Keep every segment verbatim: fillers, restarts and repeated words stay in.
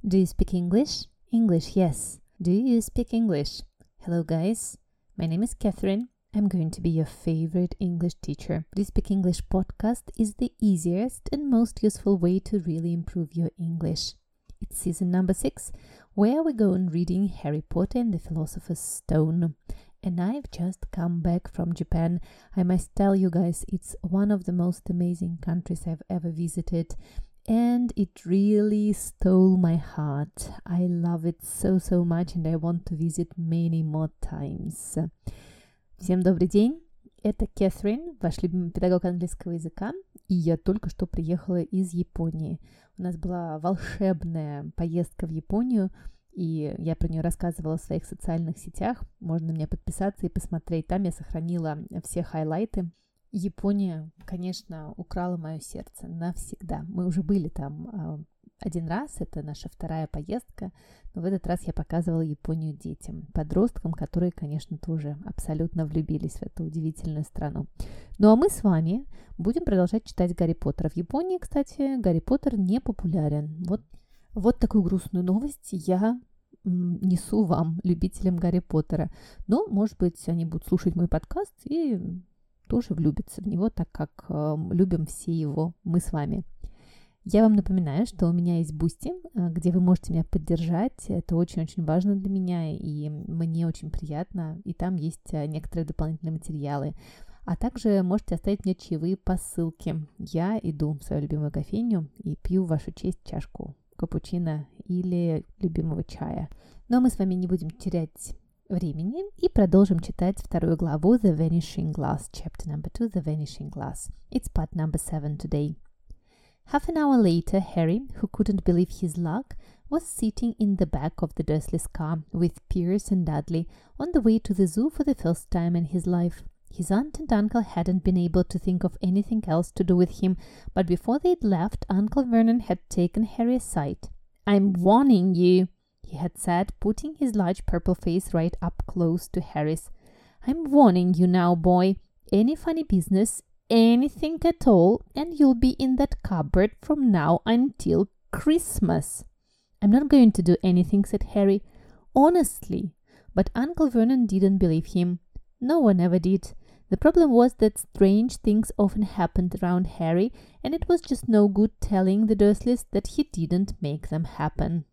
Do you speak English? English, yes. Do you speak English? Hello, guys. My name is Catherine. I'm going to be your favorite English teacher. Do you speak English podcast is the easiest and most useful way to really improve your English. It's season number six, where we go on reading Harry Potter and the Philosopher's Stone. And I've just come back from Japan. I must tell you guys, it's one of the most amazing countries I've ever visited. And it really stole my heart. I love it so, so much, and I want to visit many more times. Всем добрый день. Это Кэтрин, ваш любимый педагог английского языка, и я только что приехала из Японии. У нас была волшебная поездка в Японию, и я про нее рассказывала в своих социальных сетях. Можно на меня подписаться и посмотреть. Там я сохранила все хайлайты. Япония, конечно, украла мое сердце навсегда. Мы уже были там э, один раз, это наша вторая поездка, но в этот раз я показывала Японию детям, подросткам, которые, конечно, тоже абсолютно влюбились в эту удивительную страну. Ну а мы с вами будем продолжать читать Гарри Поттера. В Японии, кстати, Гарри Поттер не популярен. Вот, вот такую грустную новость я м, несу вам, любителям Гарри Поттера. Но, может быть, они будут слушать мой подкаст и тоже влюбятся в него, так как э, любим все его мы с вами. Я вам напоминаю, что у меня есть Boosty, где вы можете меня поддержать. Это очень-очень важно для меня, и мне очень приятно. И там есть некоторые дополнительные материалы. А также можете оставить мне чаевые по ссылке. Я иду в свою любимую кофейню и пью в вашу честь чашку капучино или любимого чая. Но мы с вами не будем терять времени и продолжим читать вторую главу The Vanishing Glass, chapter number two, The Vanishing Glass. It's part number seven today. Half an hour later, Harry, who couldn't believe his luck, was sitting in the back of the Dursleys' car with Pierce and Dudley on the way to the zoo for the first time in his life. His aunt and uncle hadn't been able to think of anything else to do with him, but before they'd left, Uncle Vernon had taken Harry aside. "I'm warning you," he had said, putting his large purple face right up close to Harry's. "I'm warning you now, boy. Any funny business, anything at all, and you'll be in that cupboard from now until Christmas." "I'm not going to do anything," said Harry. Honestly. But Uncle Vernon didn't believe him. No one ever did. The problem was that strange things often happened around Harry, and it was just no good telling the Dursleys that he didn't make them happen.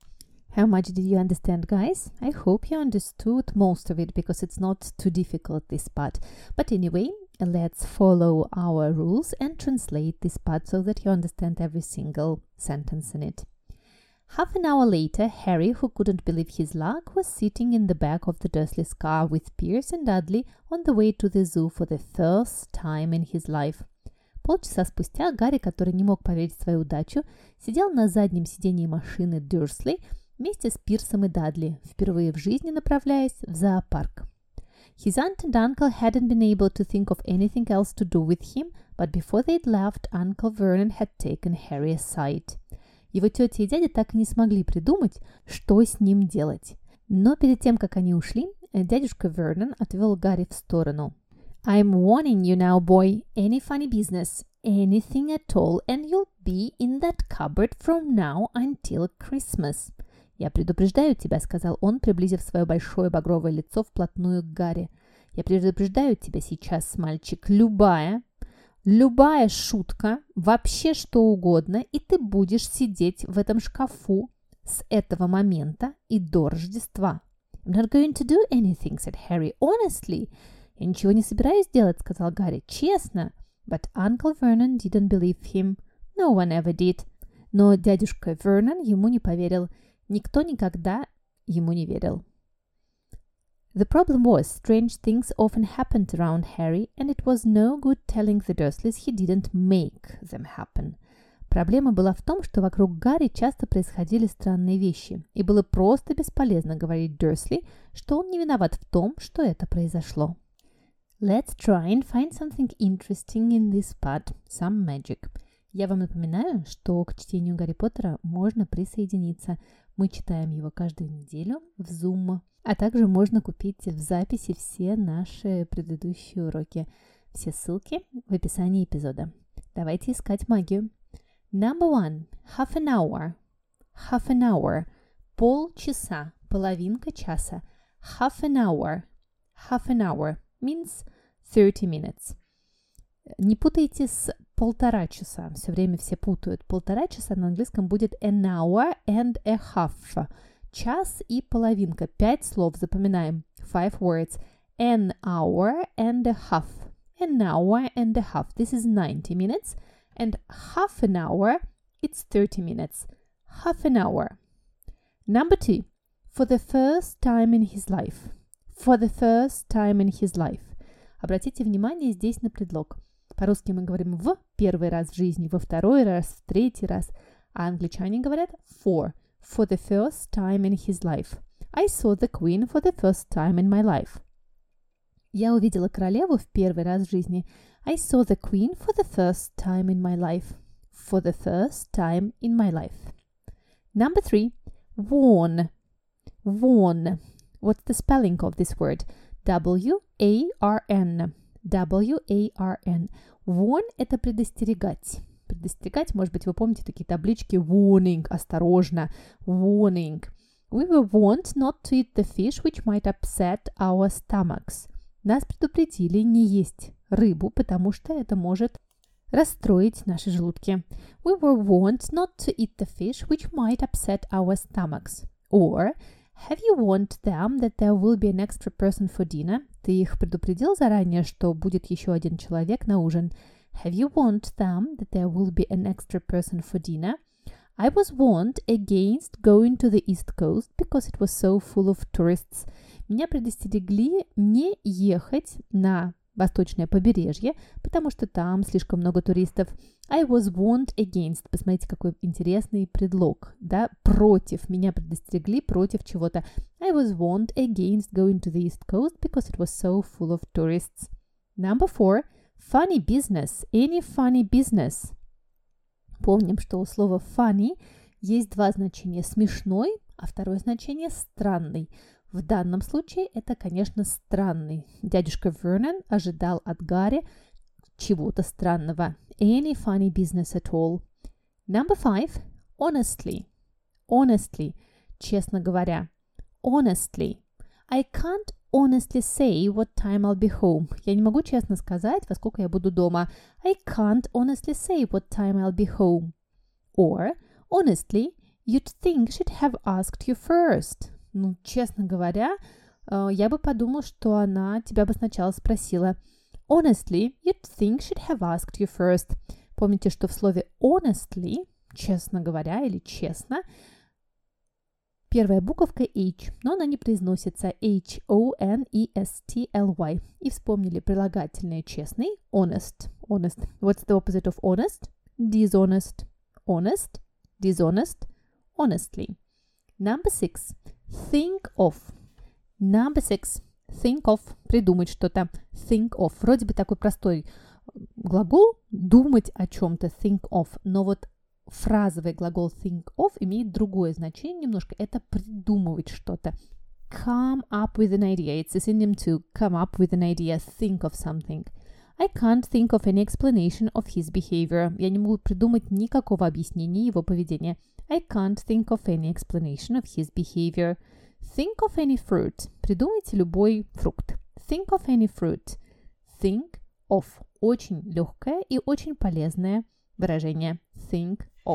How much did you understand, guys? I hope you understood most of it, because it's not too difficult, this part. But anyway, let's follow our rules and translate this part so that you understand every single sentence in it. Half an hour later, Harry, who couldn't believe his luck, was sitting in the back of the Dursleys' car with Pierce and Dudley on the way to the zoo for the first time in his life. Полчаса спустя Гарри, который не мог поверить в свою удачу, сидел на заднем сидении машины Дурсли вместе с Пирсом и Дадли, впервые в жизни направляясь в зоопарк. His aunt and uncle hadn't been able to think of anything else to do with him, but before they'd left, Uncle Vernon had taken Harry aside. Его тетя и дядя так и не смогли придумать, что с ним делать. Но перед тем, как они ушли, дядюшка Вернон отвел Гарри в сторону. "I'm warning you now, boy. Any funny business, anything at all, and you'll be in that cupboard from now until Christmas." «Я предупреждаю тебя», — сказал он, приблизив свое большое багровое лицо вплотную к Гарри. «Я предупреждаю тебя сейчас, мальчик, любая, любая шутка, вообще что угодно, и ты будешь сидеть в этом шкафу с этого момента и до Рождества». «I'm not going to do anything», — said Harry. «Honestly». «Я ничего не собираюсь делать», — сказал Гарри. «Честно». But Uncle Vernon didn't believe him. No one ever did. Но дядюшка Вернон ему не поверил. Никто никогда ему не верил. The problem was, strange things often happened around Harry, and it was no good telling the Dursleys he didn't make them happen. Проблема была в том, что вокруг Гарри часто происходили странные вещи, и было просто бесполезно говорить Дурсли, что он не виноват в том, что это произошло. Let's try and find something interesting in this part, some magic. Я вам напоминаю, что к чтению Гарри Поттера можно присоединиться. Мы читаем его каждую неделю в Zoom, а также можно купить в записи все наши предыдущие уроки. Все ссылки в описании эпизода. Давайте искать магию. Number one. Half an hour. half an hour. Полчаса, половинка часа. Half an hour. Half an hour means thirty minutes. Не путайте с полтора часа. Все время все путают. Полтора часа на английском будет an hour and a half. Час и половинка. Пять слов запоминаем. Five words. An hour and a half. An hour and a half. This is ninety minutes. And half an hour, it's thirty minutes. Half an hour. Number two. For the first time in his life. For the first time in his life. Обратите внимание здесь на предлог. По-русски мы говорим в первый раз в жизни, во второй раз, в третий раз. А англичане говорят for. For the first time in his life. I saw the queen for the first time in my life. Я увидела королеву в первый раз в жизни. I saw the queen for the first time in my life. For the first time in my life. Number three. Warn. Warn. What's the spelling of this word? W A R N. W A R N. Warn – это предостерегать. Предостерегать, может быть, вы помните такие таблички warning, осторожно, warning. We were warned not to eat the fish which might upset our stomachs. Нас предупредили не есть рыбу, потому что это может расстроить наши желудки. We were warned not to eat the fish which might upset our stomachs. Or, have you warned them that there will be an extra person for dinner? Ты их предупредил заранее, что будет еще один человек на ужин? Have you warned them that there will be an extra person for dinner? I was warned against going to the East Coast because it was so full of tourists. Меня предостерегли не ехать на восточное побережье, потому что там слишком много туристов. I was warned against. Посмотрите, какой интересный предлог, да? Против. Меня предостерегли против чего-то. I was warned against going to the East Coast because it was so full of tourists. Number four. Funny business. Any funny business. Помним, что у слова funny есть два значения. Смешной, а второе значение странный. В данном случае это, конечно, странный. Дядюшка Вернон ожидал от Гарри чего-то странного. Any funny business at all. Number five. Honestly. Honestly. Честно говоря. Honestly. I can't honestly say what time I'll be home. Я не могу честно сказать, во сколько я буду дома. I can't honestly say what time I'll be home. Or, honestly, you'd think she'd have asked you first. Ну, честно говоря, я бы подумал, что она тебя бы сначала спросила. Honestly, you'd think she'd have asked you first. Помните, что в слове honestly, честно говоря или честно, первая буковка H, но она не произносится H O N E S T L Y. И вспомнили прилагательное честный, honest. Honest. What's the opposite of honest? Dishonest. Honest, dishonest, honestly. Number six. Think of. Number six. Think of. Придумать что-то. Think of. Вроде бы такой простой глагол думать о чем-то. Think of. Но вот фразовый глагол think of имеет другое значение немножко. Это придумывать что-то. Come up with an idea. It's a synonym to come up with an idea. Think of something. I can't think of any explanation of his behavior. Я не могу придумать никакого объяснения его поведения. I can't think of any explanation of his behavior. Think of any fruit. Придумайте любой фрукт. Think of any fruit. Think of. Очень легкое и очень полезное выражение. Think of.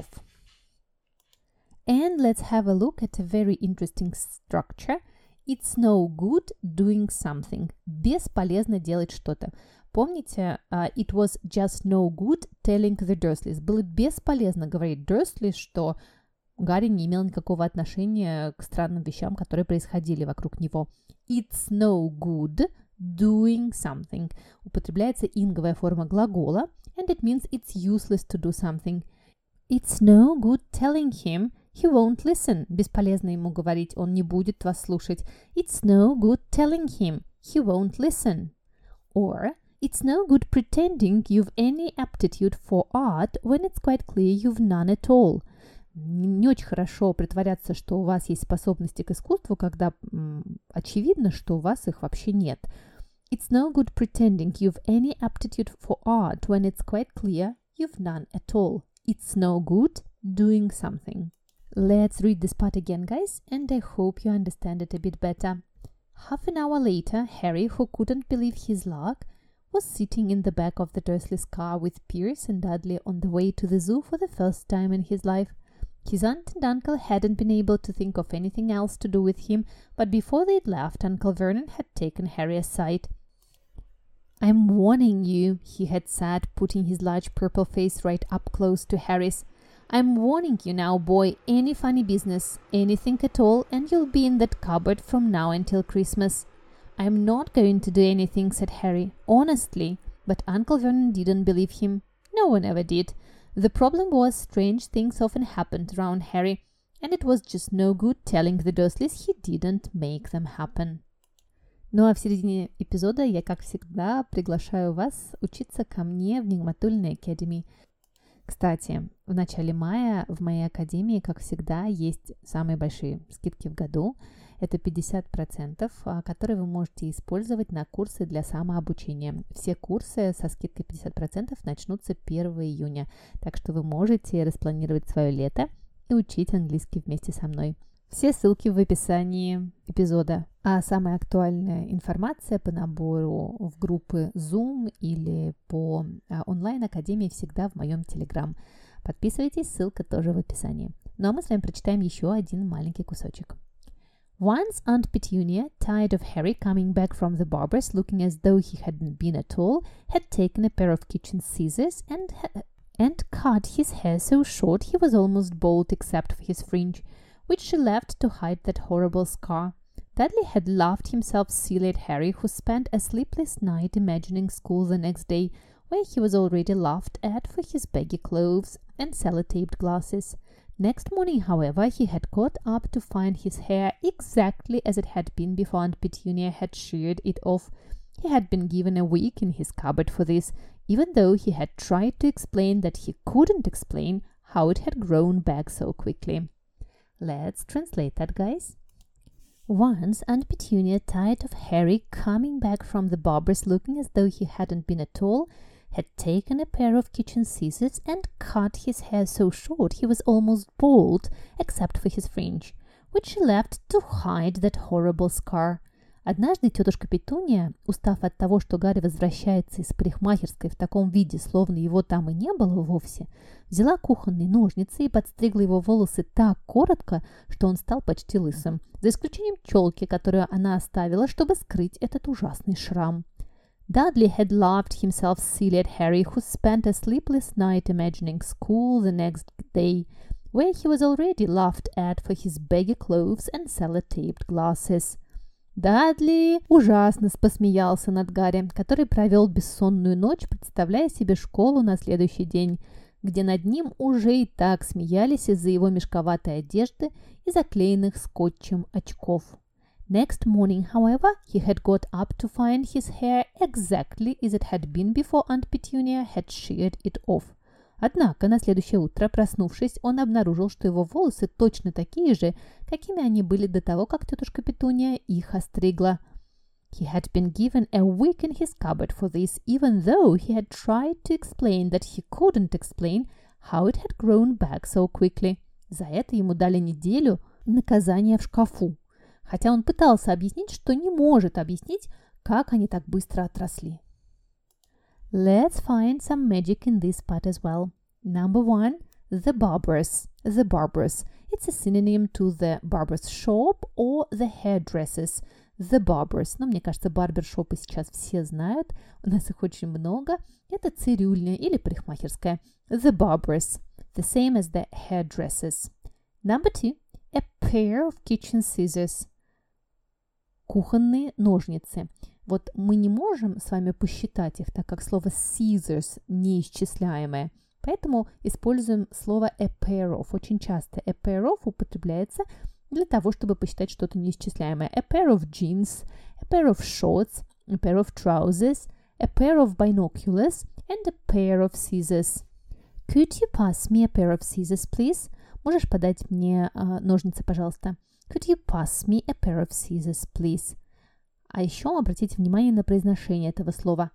And let's have a look at a very interesting structure. It's no good doing something. Бесполезно делать что-то. Помните, uh, it was just no good telling the Dursleys. Было бесполезно говорить Dursley, что Гарри не имел никакого отношения к странным вещам, которые происходили вокруг него. It's no good doing something. Употребляется инговая форма глагола, and it means it's useless to do something. It's no good telling him he won't listen. Bесполезно ему говорить, он не будет вас слушать. It's no good telling him he won't listen. Or, it's no good pretending you've any aptitude for art when it's quite clear you've none at all. Не очень хорошо притворяться, что у вас есть способности к искусству, когда м, очевидно, что у вас их вообще нет. It's no good pretending you've any aptitude for art when it's quite clear you've none at all. It's no good doing something. Let's read this part again, guys, and I hope you understand it a bit better. Half an hour later, Harry, who couldn't believe his luck, was sitting in the back of the Dursleys' car with Pierce and Dudley on the way to the zoo for the first time in his life. His aunt and uncle hadn't been able to think of anything else to do with him, but before they'd left, Uncle Vernon had taken Harry aside. "I'm warning you," he had said, putting his large purple face right up close to Harry's. "I'm warning you now, boy, any funny business, anything at all, and you'll be in that cupboard from now until Christmas." "I'm not going to do anything," said Harry, honestly, but Uncle Vernon didn't believe him. No one ever did. The problem was, strange things often happened around Harry, and it was just no good telling the Dursleys he didn't make them happen. Ну а в середине эпизода я, как всегда, приглашаю вас учиться ко мне в Нигматульной Academy. Кстати, в начале мая в моей академии, как всегда, есть самые большие скидки в году. Это пятьдесят процентов, которые вы можете использовать на курсы для самообучения. Все курсы со скидкой пятьдесят процентов начнутся первого июня, так что вы можете распланировать свое лето и учить английский вместе со мной. Все ссылки в описании эпизода. А самая актуальная информация по набору в группы Zoom или по онлайн-академии всегда в моем Telegram. Подписывайтесь, ссылка тоже в описании. Ну а мы с вами прочитаем еще один маленький кусочек. Once Aunt Petunia, tired of Harry coming back from the barber's looking as though he hadn't been at all, had taken a pair of kitchen scissors and, and cut his hair so short he was almost bald except for his fringe, which she left to hide that horrible scar. Dudley had laughed himself silly at Harry, who spent a sleepless night imagining school the next day, where he was already laughed at for his baggy clothes and sellotaped glasses. Next morning, however, he had got up to find his hair exactly as it had been before Aunt Petunia had sheared it off. He had been given a week in his cupboard for this, even though he had tried to explain that he couldn't explain how it had grown back so quickly. Let's translate that, guys. Once Aunt Petunia, tired of Harry coming back from the barber's looking as though he hadn't been at all, had taken a pair of kitchen scissors and cut his hair so short he was almost bald, except for his fringe, which she left to hide that horrible scar. Однажды тетушка Петуния, устав от того, что Гарри возвращается из парикмахерской в таком виде, словно его там и не было вовсе, взяла кухонные ножницы и подстригла его волосы так коротко, что он стал почти лысым, за исключением челки, которую она оставила, чтобы скрыть этот ужасный шрам. Dudley had laughed himself silly at Harry, who spent a sleepless night imagining school the next day, where he was already laughed at for his baggy clothes and sellotaped glasses. Дадли ужасно посмеялся над Гарри, который провел бессонную ночь, представляя себе школу на следующий день, где над ним уже и так смеялись из-за его мешковатой одежды и заклеенных скотчем очков. Next morning, however, he had got up to find his hair exactly as it had been before Aunt Petunia had sheared it off. Однако на следующее утро, проснувшись, он обнаружил, что его волосы точно такие же, какими они были до того, как тетушка Петуния их остригла. He had been given a week in his cupboard for this, even though he had tried to explain that he couldn't explain how it had grown back so quickly. За это ему дали неделю наказания в шкафу, хотя он пытался объяснить, что не может объяснить, как они так быстро отросли. Let's find some magic in this part as well. Number one, the barber's. The barber's. It's a synonym to the barber's shop or the hairdresser's. The barber's. Но мне кажется, барбершопы сейчас все знают. У нас их очень много. Это цирюльня или парикмахерская. The barber's. The same as the hairdresser's. Number two, a pair of kitchen scissors. Кухонные ножницы. Вот мы не можем с вами посчитать их, так как слово scissors неисчисляемое. Поэтому используем слово a pair of очень часто. A pair of употребляется для того, чтобы посчитать что-то неисчисляемое. A pair of jeans, a pair of shorts, a pair of trousers, a pair of binoculars and a pair of scissors. Could you pass me a pair of scissors, please? Можешь подать мне uh, ножницы, пожалуйста? Could you pass me a pair of scissors, please? А еще обратите внимание на произношение этого слова.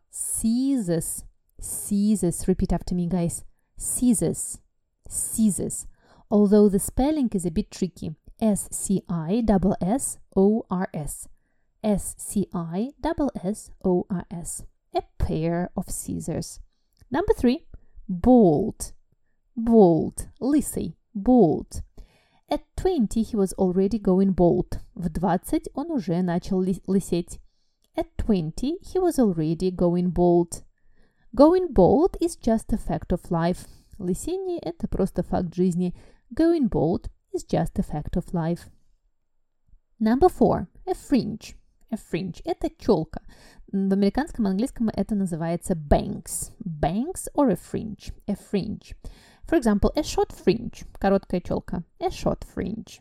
Scissors. Scissors. Repeat after me, guys. Scissors. Scissors. although the spelling is a bit tricky. S C I S S O R S. S C I S S O R S. A pair of scissors. Number three, bald. Bald. Лысый. Bald. At twenty he was already going bald. В двадцать он уже начал лысеть. At twenty he was already going bald. Going bald is just a fact of life. Лысение – это просто факт жизни. Going bald is just a fact of life. Number four. A fringe. A fringe – это челка. В американском английском это называется bangs. Bangs or a fringe. A fringe. For example, a short fringe. Короткая челка. A short fringe.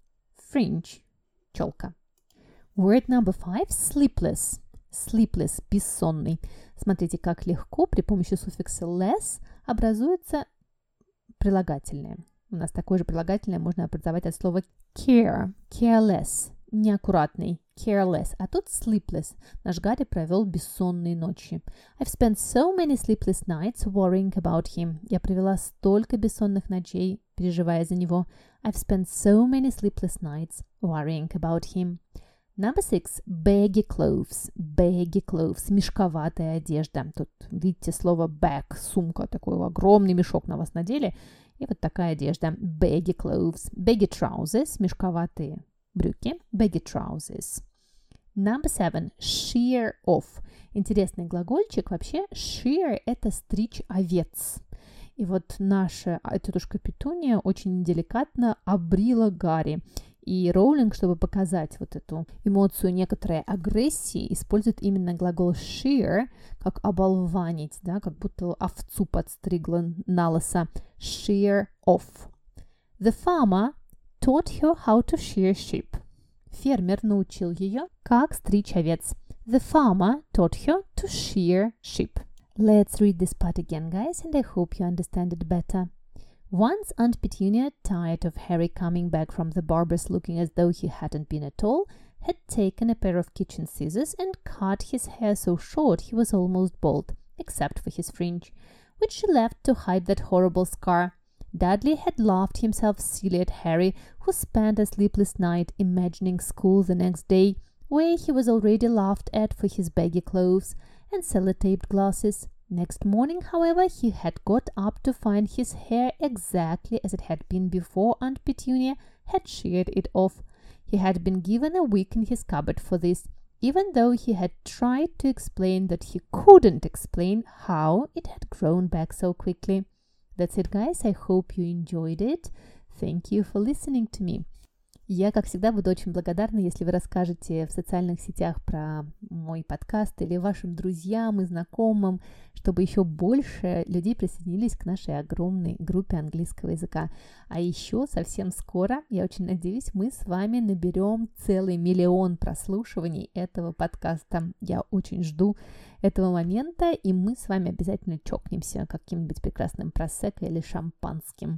Fringe. Челка. Word number five. Sleepless. Sleepless. Бессонный. Смотрите, как легко при помощи суффикса less образуется прилагательное. У нас такое же прилагательное можно образовать от слова care. Careless. Неаккуратный. Careless. А тут sleepless. Наш Гарри провел бессонные ночи. I've spent so many sleepless nights worrying about him. Я провела столько бессонных ночей, переживая за него. I've spent so many sleepless nights worrying about him. Number six. Baggy clothes. Baggy clothes. Мешковатая одежда. Тут видите слово bag. Сумка. Такой огромный мешок на вас надели. И вот такая одежда. Baggy clothes. Baggy trousers. Мешковатые брюки. Baggy trousers. Number seven. Shear off. Интересный глагольчик. Вообще, shear – это стричь овец. И вот наша тетушка Петуния очень деликатно обрила Гарри. И Роулинг, чтобы показать вот эту эмоцию некоторой агрессии, использует именно глагол shear, как оболванить, да, как будто овцу подстригла на лысо. Shear off. The farmer taught her how to shear sheep. Фермер научил ее, как стричь овец. The farmer taught her to shear sheep. Let's read this part again, guys, and I hope you understand it better. Once Aunt Petunia, tired of Harry coming back from the barber's looking as though he hadn't been at all, had taken a pair of kitchen scissors and cut his hair so short he was almost bald, except for his fringe, which she left to hide that horrible scar. Dudley had laughed himself silly at Harry, who spent a sleepless night imagining school the next day, where he was already laughed at for his baggy clothes and sellotaped glasses. Next morning, however, he had got up to find his hair exactly as it had been before Aunt Petunia had sheared it off. He had been given a week in his cupboard for this, even though he had tried to explain that he couldn't explain how it had grown back so quickly. That's it, guys. I hope you enjoyed it. Thank you for listening to me. Я, как всегда, буду очень благодарна, если вы расскажете в социальных сетях про мой подкаст или вашим друзьям и знакомым, чтобы еще больше людей присоединились к нашей огромной группе английского языка. А еще совсем скоро, я очень надеюсь, мы с вами наберем целый миллион прослушиваний этого подкаста. Я очень жду этого момента, и мы с вами обязательно чокнемся каким-нибудь прекрасным просекко или шампанским.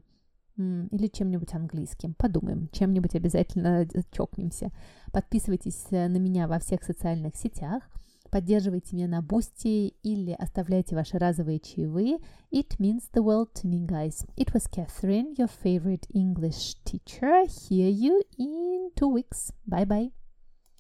Или чем-нибудь английским. Подумаем, чем-нибудь обязательно чокнемся. Подписывайтесь на меня во всех социальных сетях, поддерживайте меня на Boosty или оставляйте ваши разовые чаевые. It means the world to me, guys. It was Catherine, your favorite English teacher. Hear you in two weeks. Bye-bye.